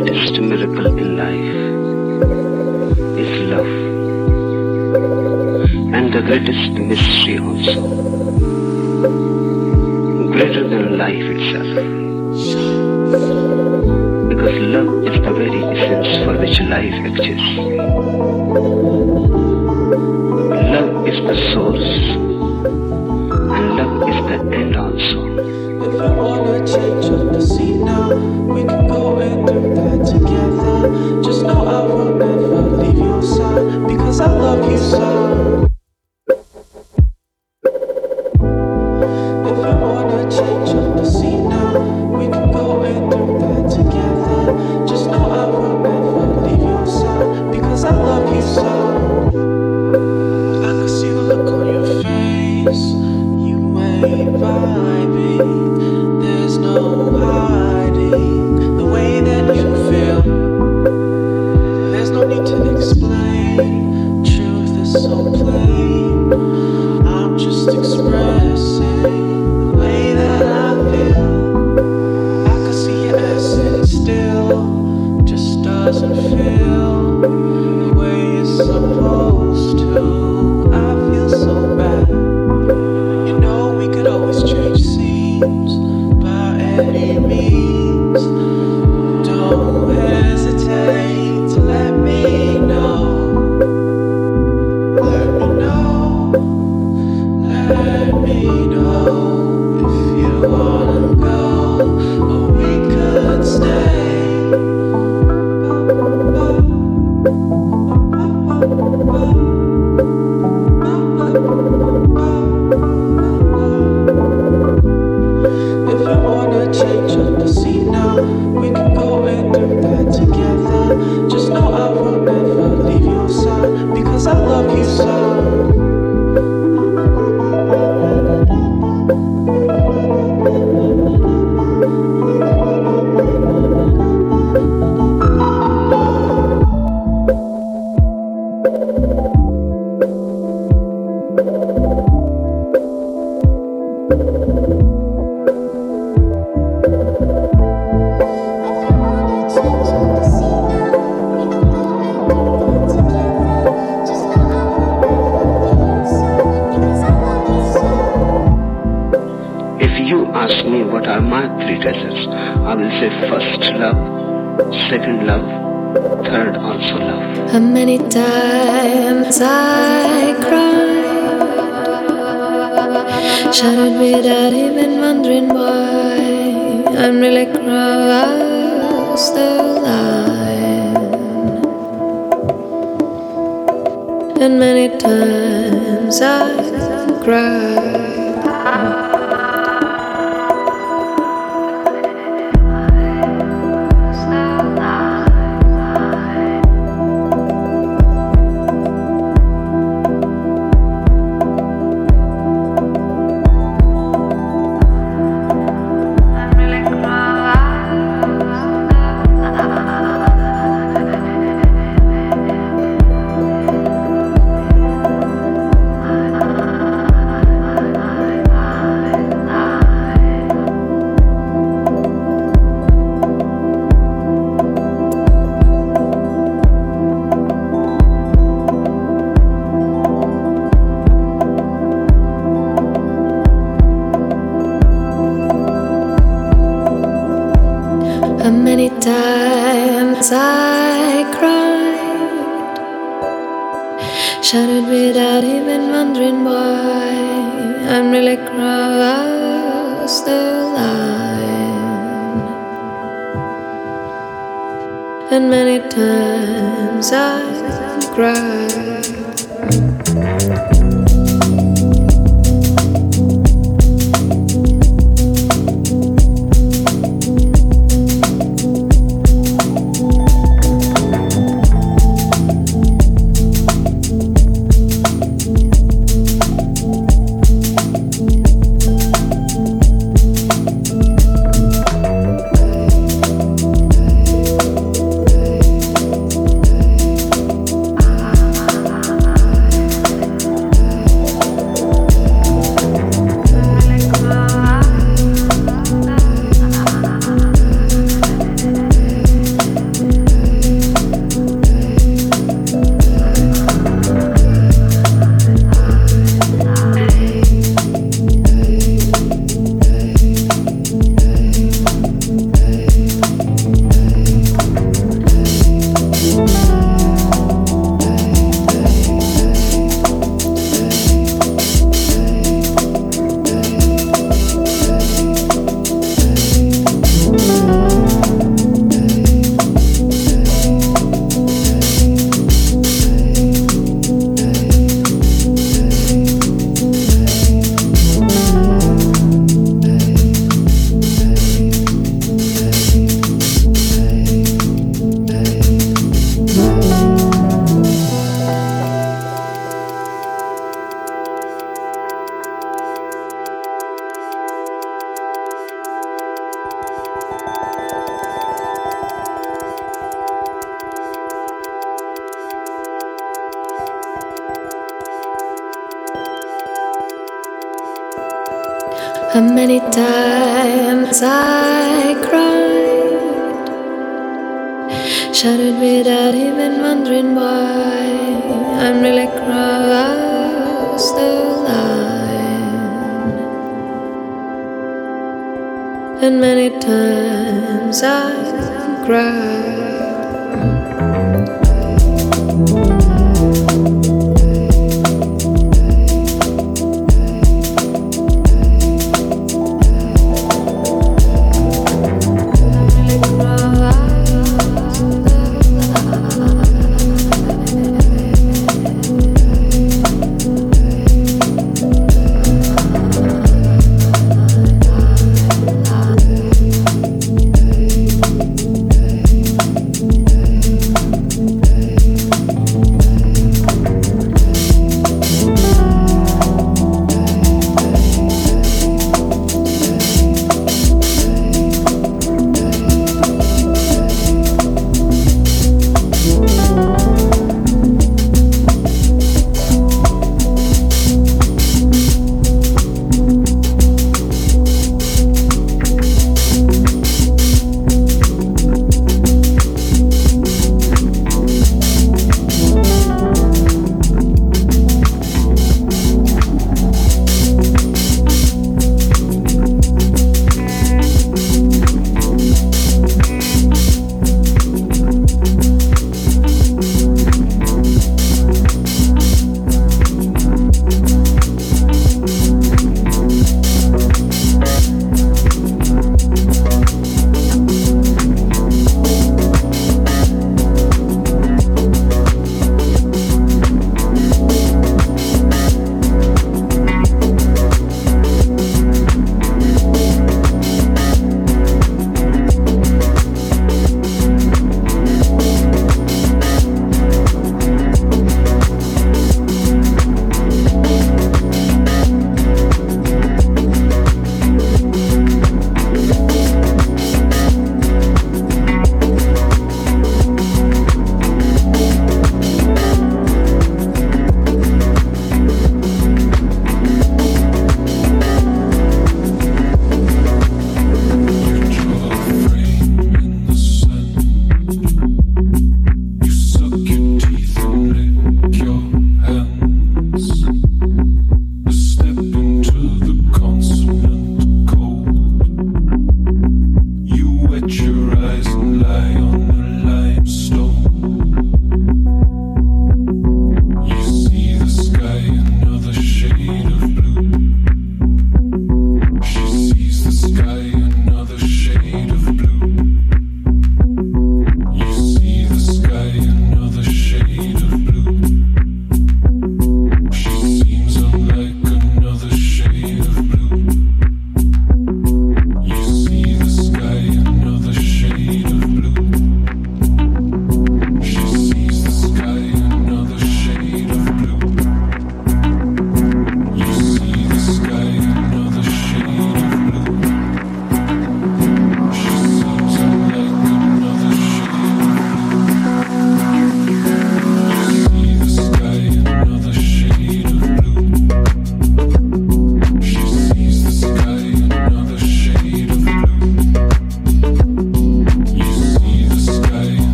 greatest miracle in life is love, and the greatest mystery also, greater than life itself, because love is the very essence for which life exists. Love is the source, and love is the end also. If you wanna change up the scene now, we can go and do that together. Just know I will never leave your side, because I love you so. If you wanna change up the scene now, we can go and do that together. Just know I will never leave your side, because I love you so. I can see the look on your face, you ain't vibing. There's no hiding the way that you feel. There's no need to explain. Truth is so plain. I'm just expressing the way that I feel. I can see your essence still, just doesn't feel the way it's supposed to. I feel so bad. You know we could always change scenes by any means. Don't hesitate to let me know. Let me know. Let me know if you wanna go, or we could stay. If you wanna change up the scene now, we can go and do that together. Just know I will never leave your side, because I love you so. If you ask me what are my three treasures, I will say first love, second love, third also love. How many times I cried, shouted without even wondering why. I'm really cross the line, and many times I cried. How many times I cried, shouted without even wondering why. I'm really cross the line, and many times I cried. And many times I cried, shouted without even wondering why I'm really crossed the line. And many times I cried.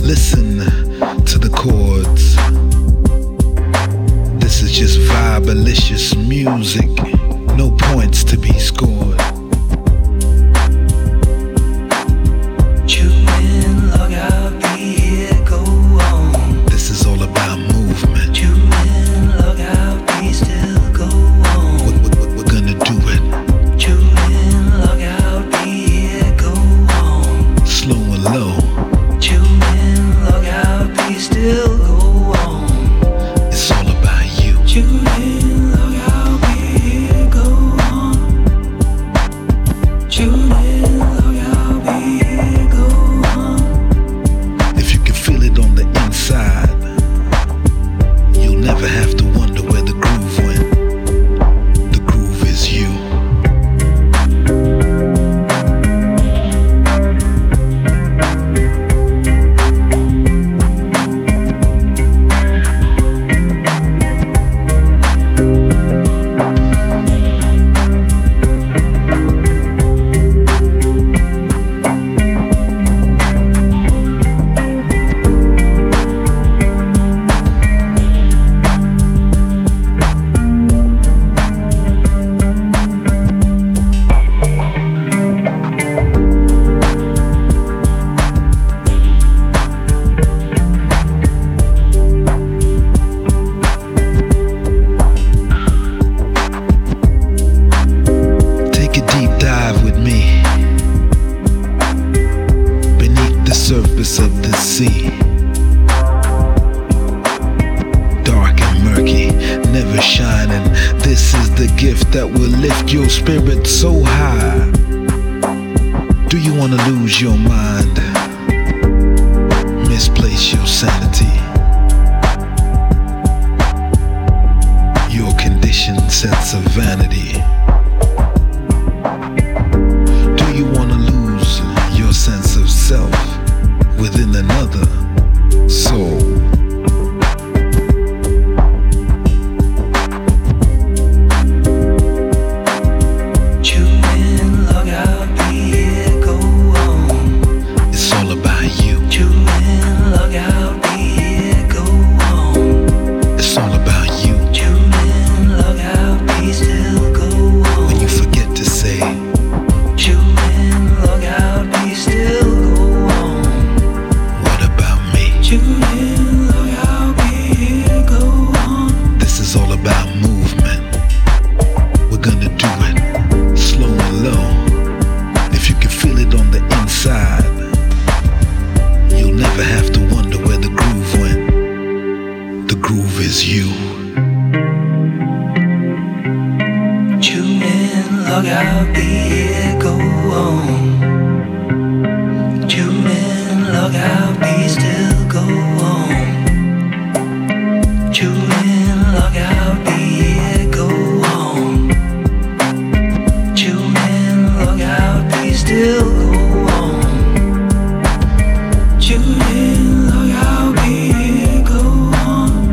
Listen to the chords. This is just vibalicious music. No points to be scored. Tune in, log out, be here, go on. This is all about movement. Tune in, log out, be still, go on. We're gonna do it. Tune in, log out, be here, go on. Slow and low. Tune in, log out, be still, go on. It's all about you. Tune in, log out, be here, go on. Tune in, log out, be here, go on. If you can feel it on the inside, you'll never have to wonder where the groove went. The groove is you. Take a deep dive with me beneath the surface of the sea. Dark and murky, never shining. This is the gift that will lift your spirit so high. Do you want to lose your mind? Misplace your sanity. Your conditioned sense of vanity. Do you want to lose your sense of self within another soul? Tune in, log out, be here, go on. It's all about you. Tune in, log out, be here, go on. It's all about you. Tune in, log out, be still, go on. When you forget to say, Tune in, log out, be still, go on. what about me? Tune in, log out, be here, go on. This is all about movement. We're gonna do it slow and low. If you can feel it on the inside, you'll never have to wonder where the groove went. The groove is you. Tune in, log out, be here, go on. Tune in, log out, be still, go on. Tune in, log out, be here, go on. Tune in, log out, be still, go on. Tune in, log out, be here, go on.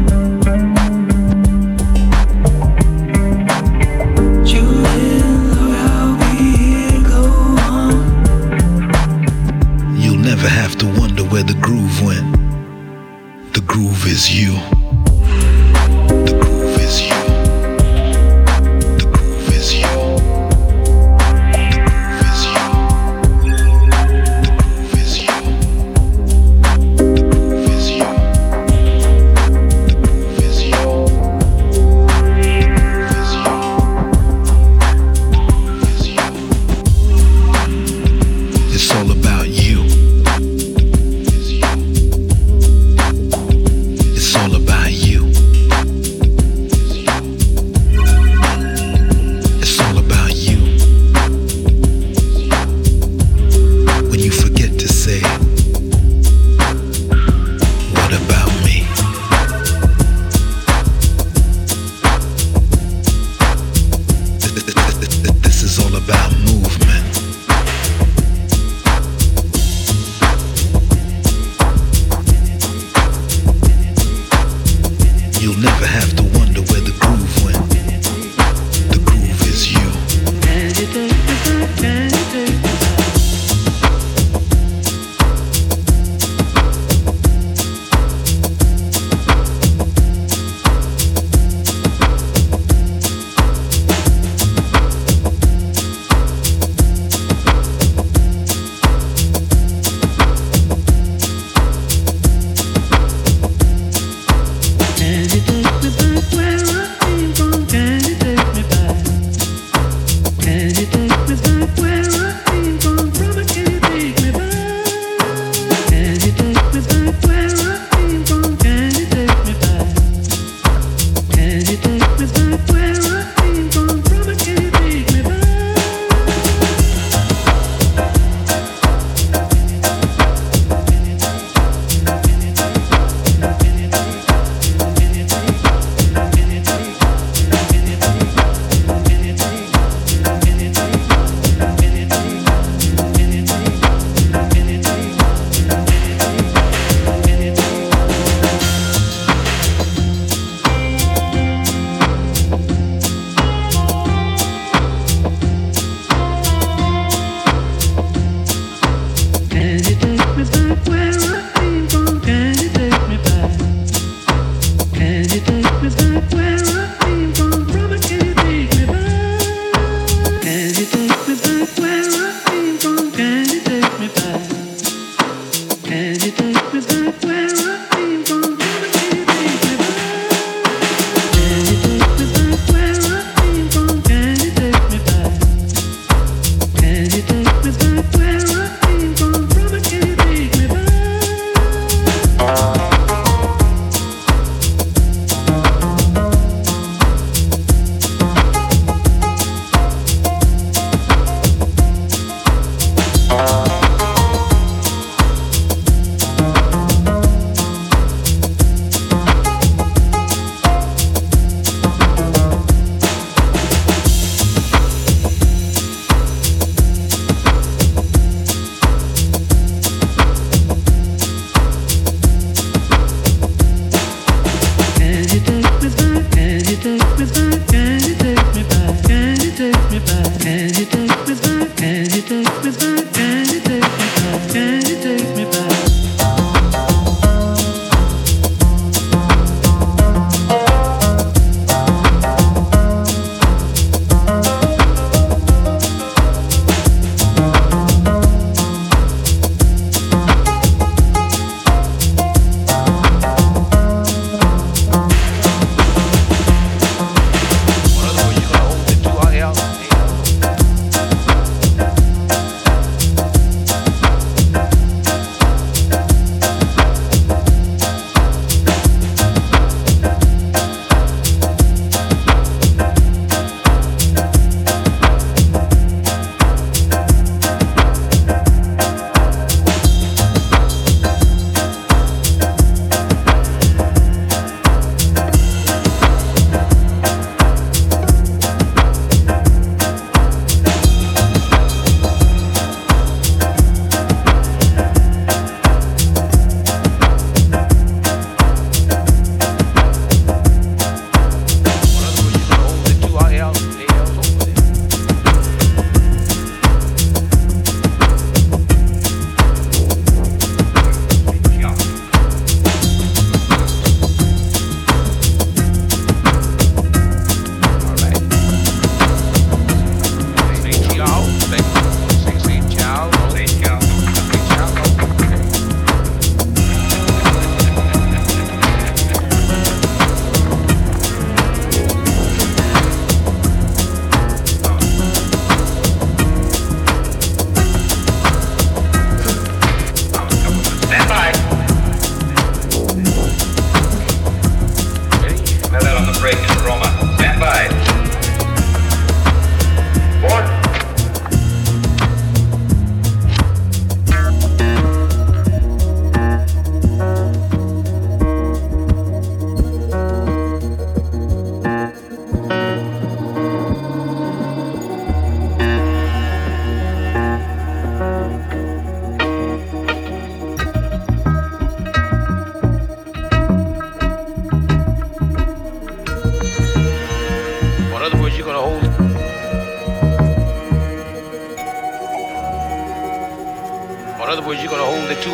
Tune in, log out, be here, go on. You'll never have to wonder where the groove went. The groove is you. The groove is you. The groove is you. The groove is you. The groove is you. The groove is you. The groove is you. The groove is you. The groove is you. It's all about you. It's all about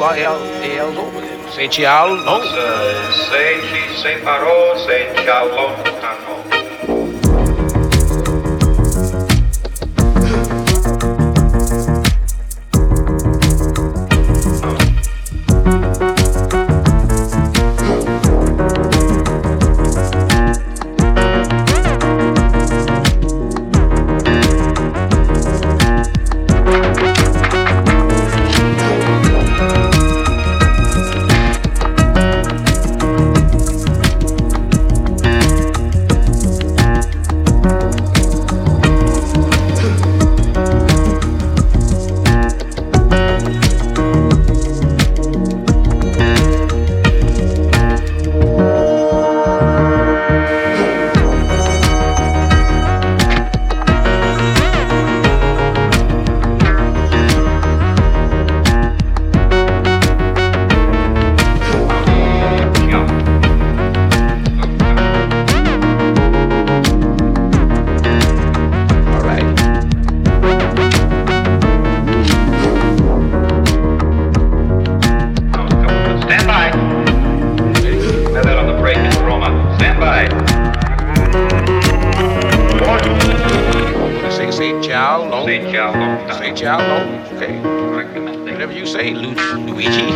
L's over there. Say ciao, no. Se ci separò, se ci allontanò. Say ciao, no. Okay. Whatever you say, Luigi.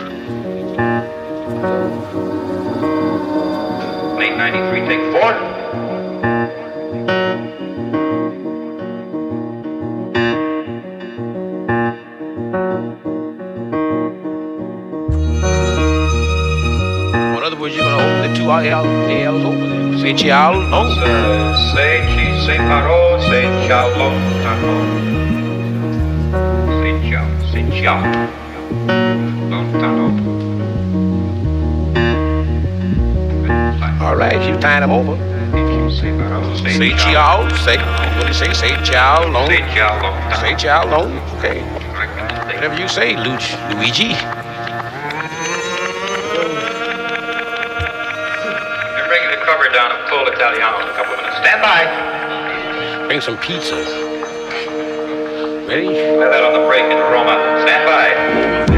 Late 93, take 4. In other words, you're gonna hold the two ALs over there. Say ciao, no. Se ci separò, se ci allontanò. Se ciao, lontano. All right, you tying them over. Say ciao, say, what do you say? Say ciao, no. Say ciao, lontano. Say ciao, no. Okay. Whatever you say, Luigi. They're bringing the cover down of Cold Italiano in a couple of minutes. Stand by. Bring some pizza. Ready? Have that on the break in Roma. Stand by.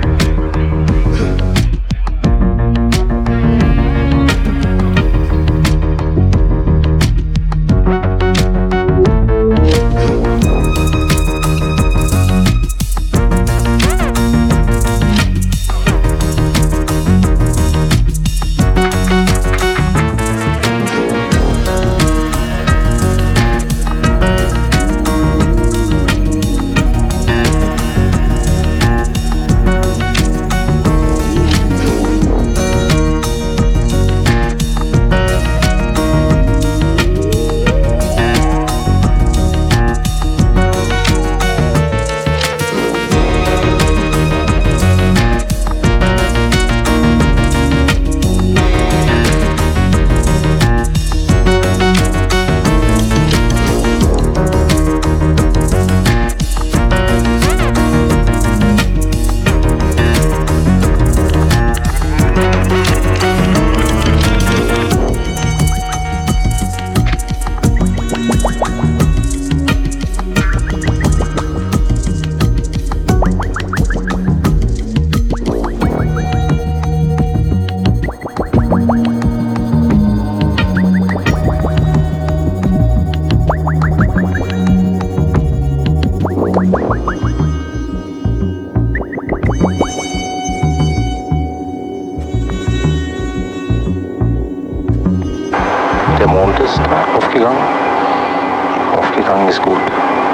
Der Mond ist aufgegangen. Aufgegangen ist gut.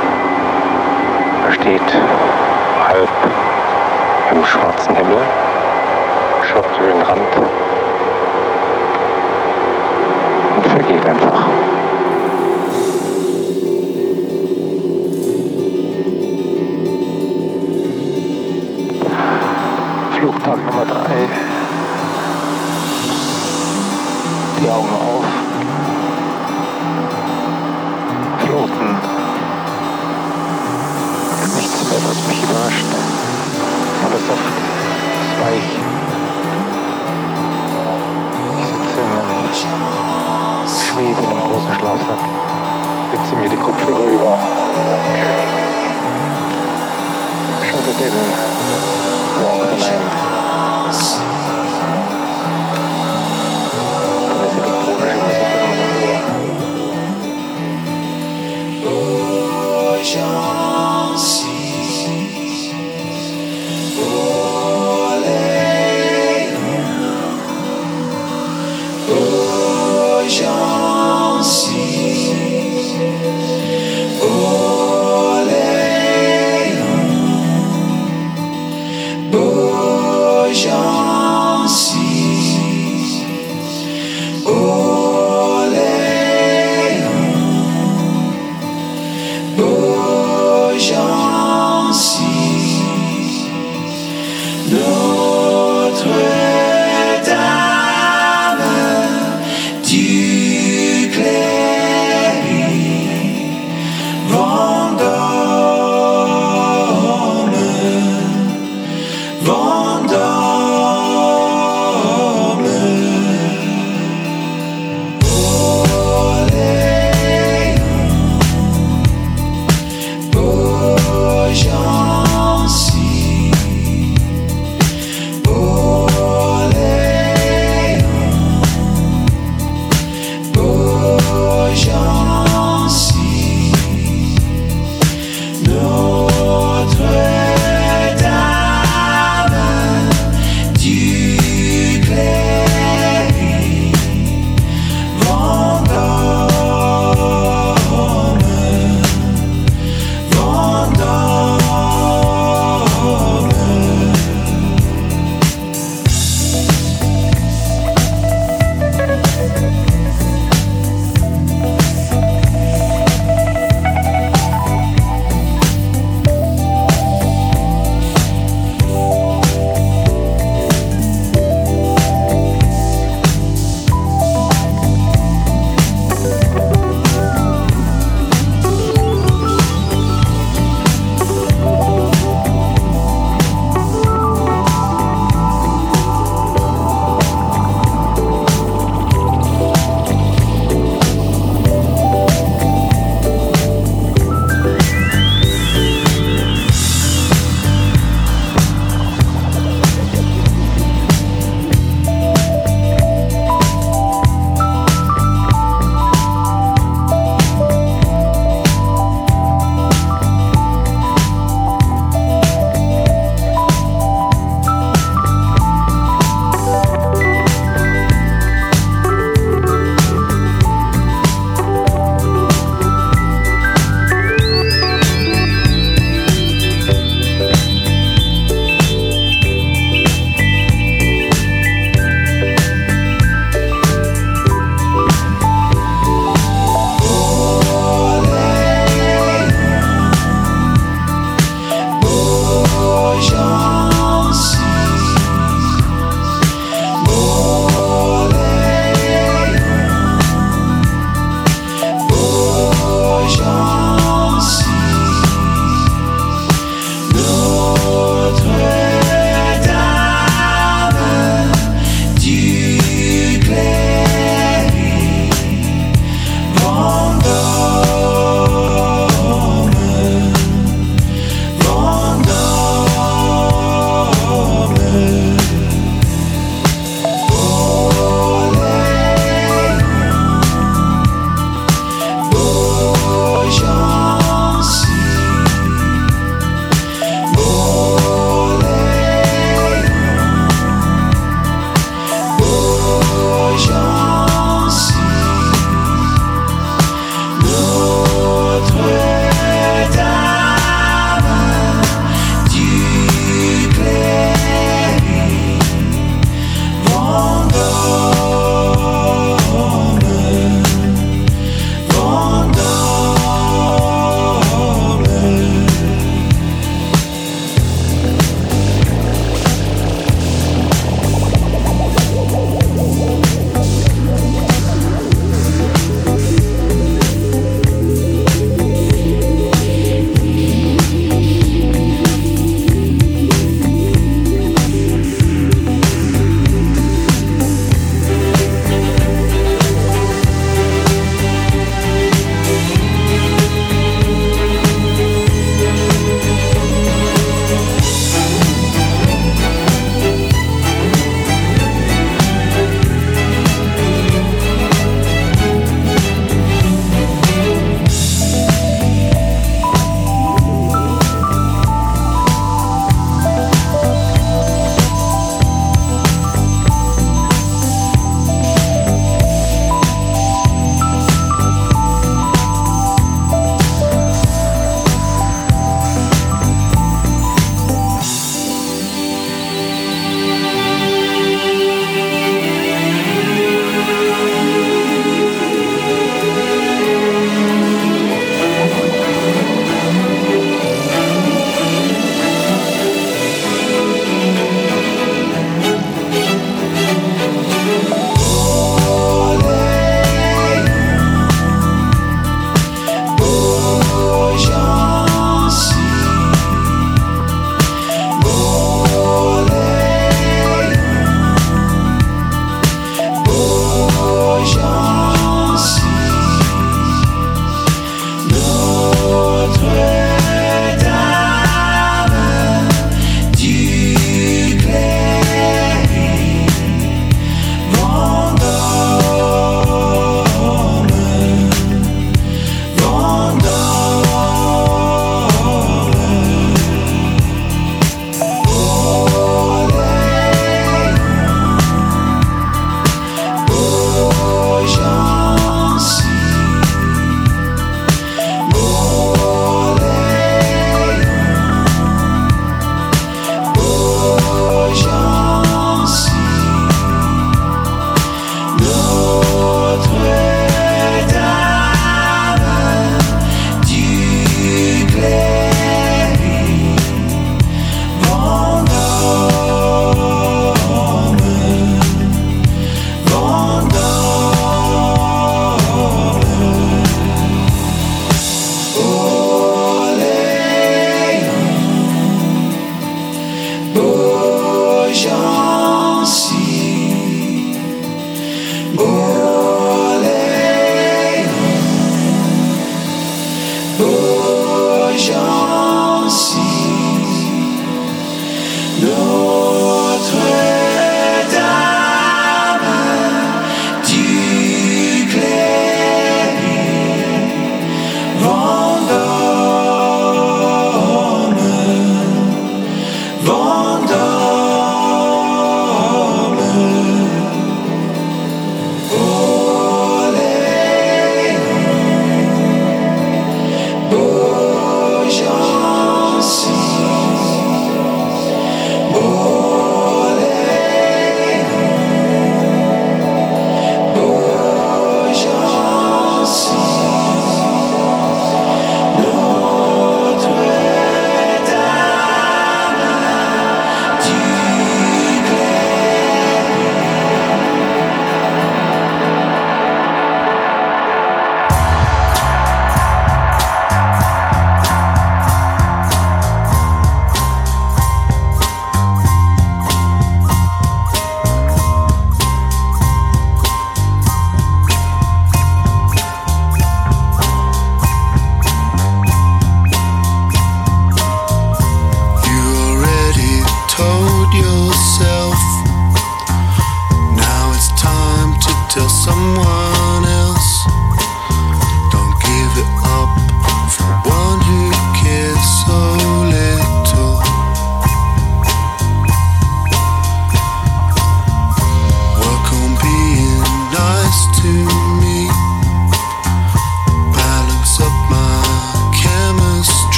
Er steht halb im schwarzen Himmel, schaut über den Rand und vergeht einfach. Flugtag Nummer 3. Die Augen auf. Floten. Nichts mehr, was mich überrascht. Alles soft, ist weich. Ich sitze in einem Schwebe in einem großen Schlafsack. Setze mir die Kopfhörer über. Schau der Devil. walk the night. Laissez le projet vous sauter dans un jour. Oh,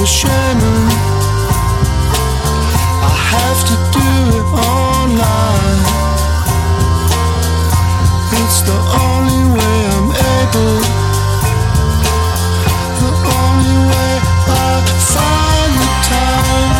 Shannon. I have to do it online. It's the only way I'm able. The only way I find the time.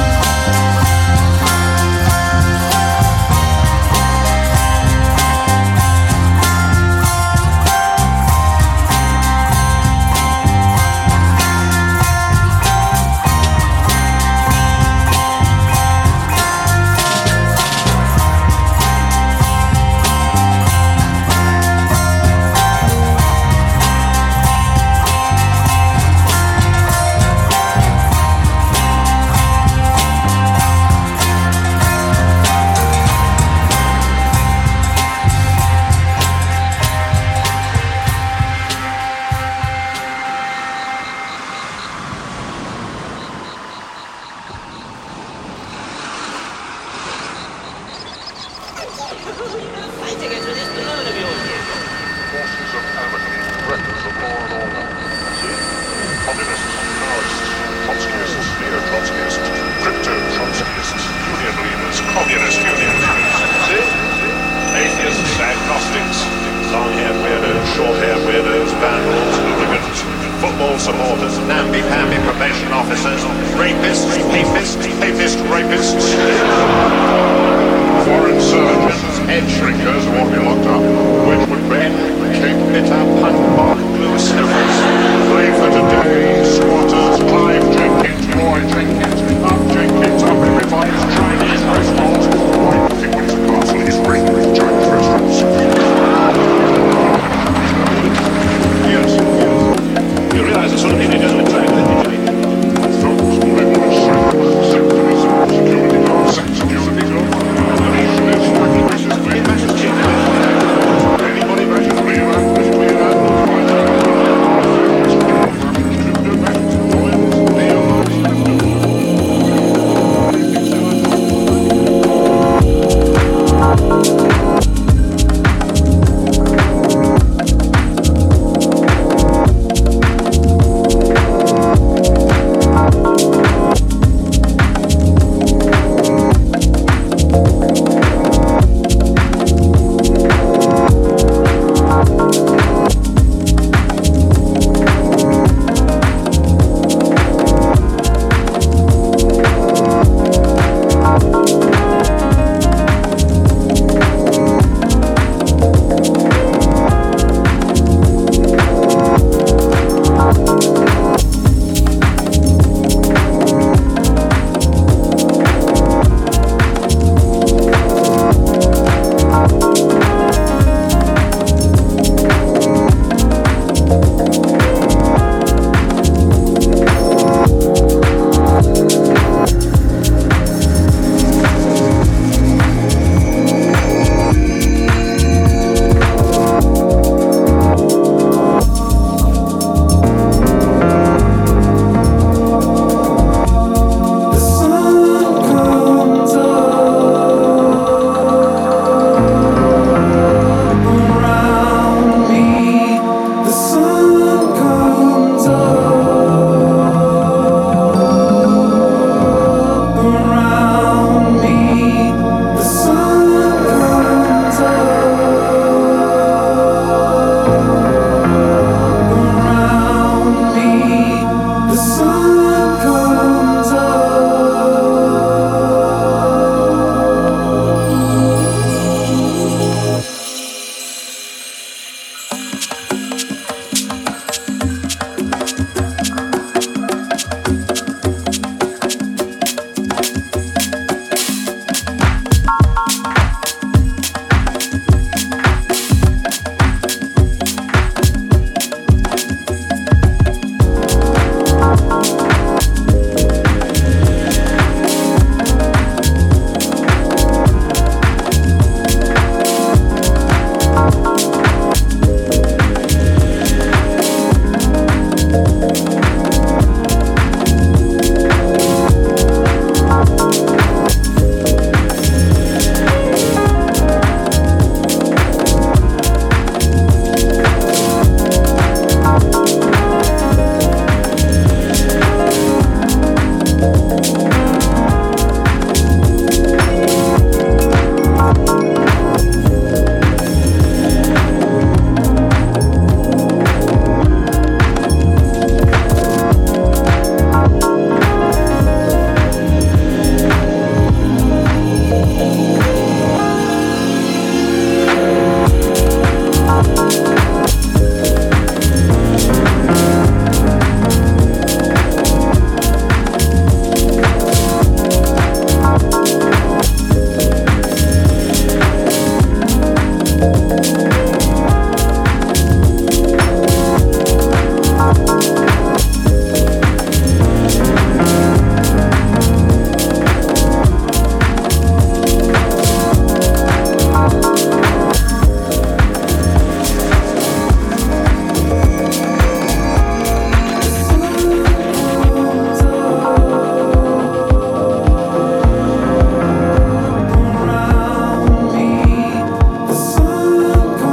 The sun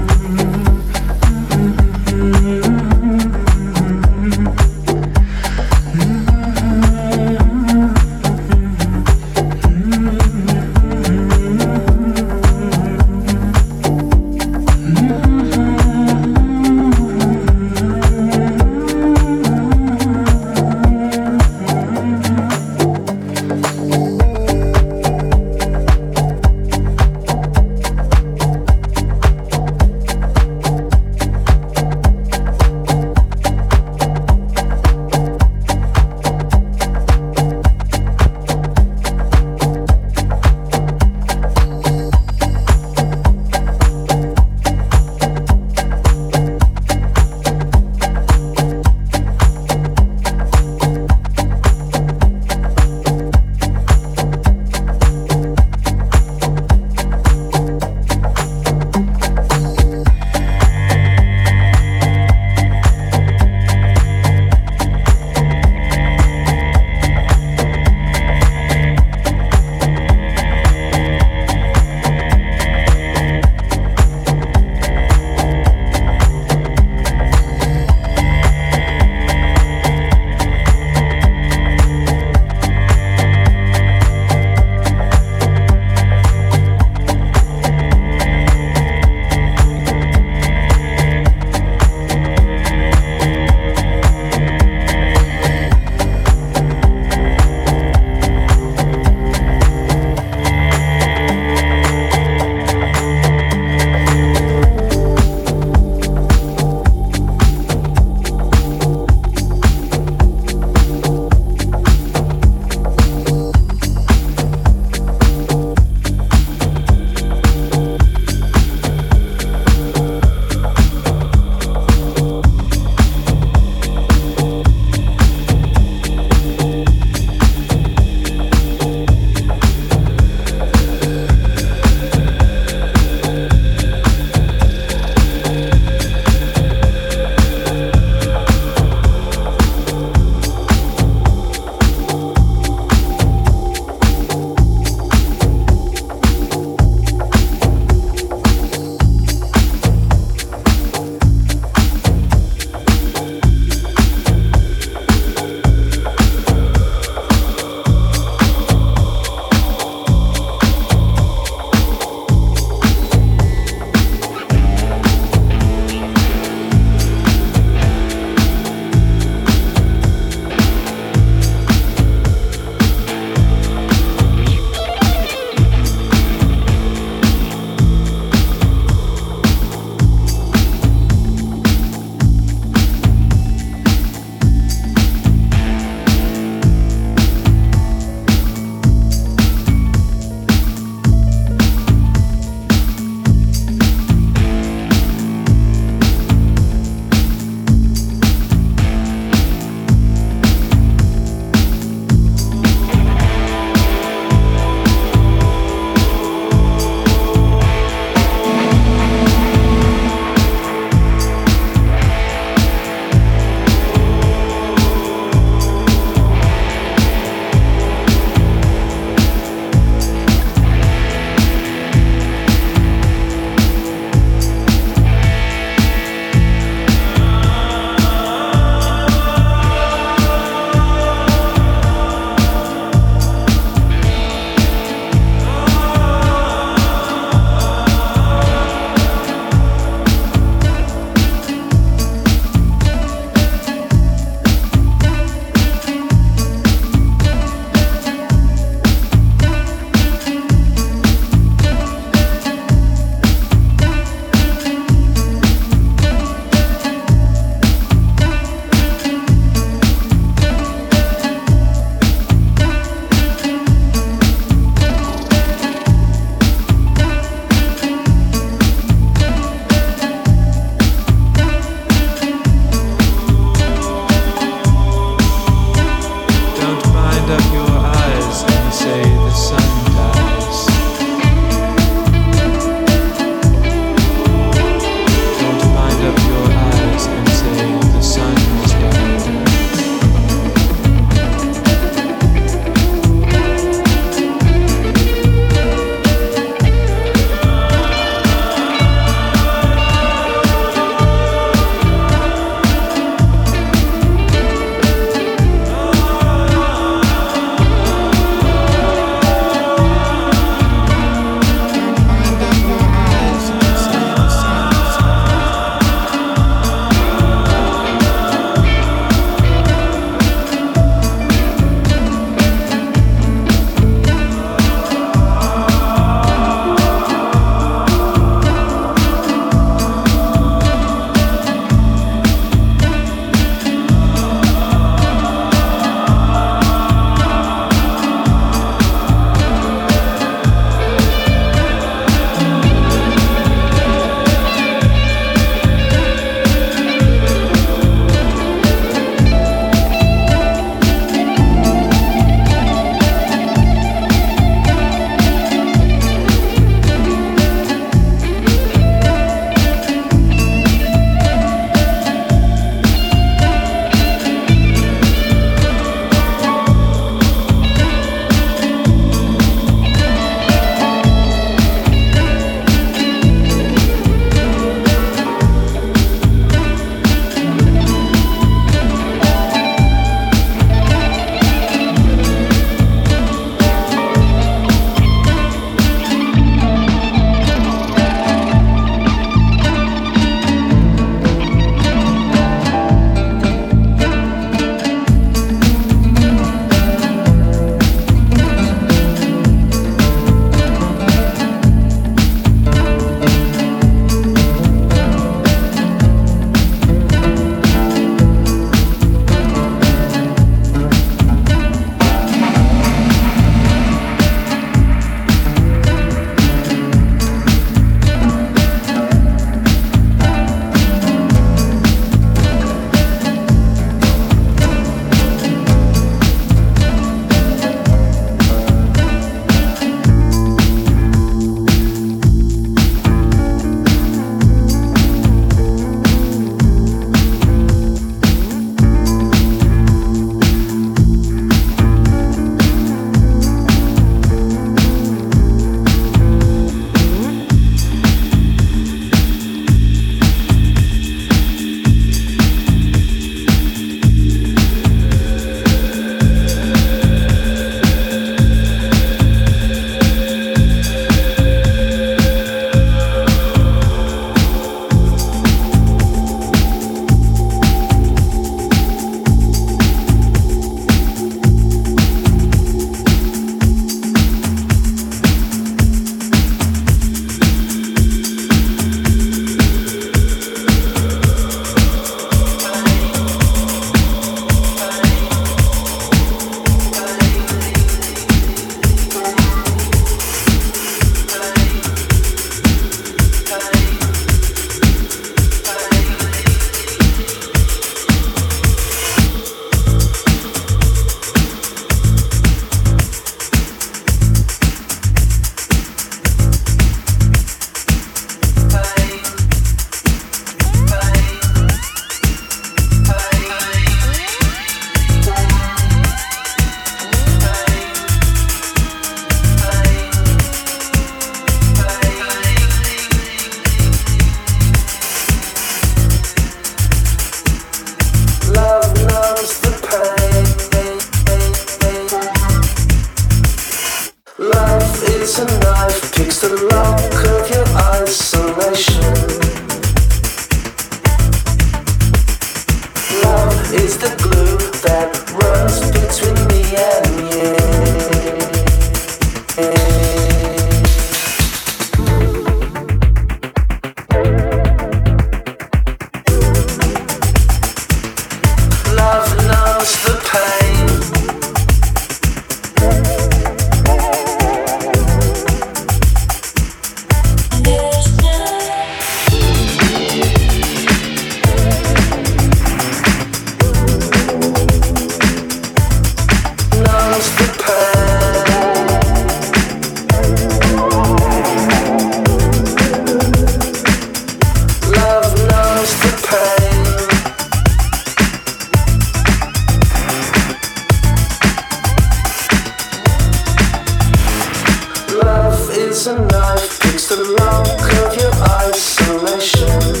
life. It's the luck of your isolation.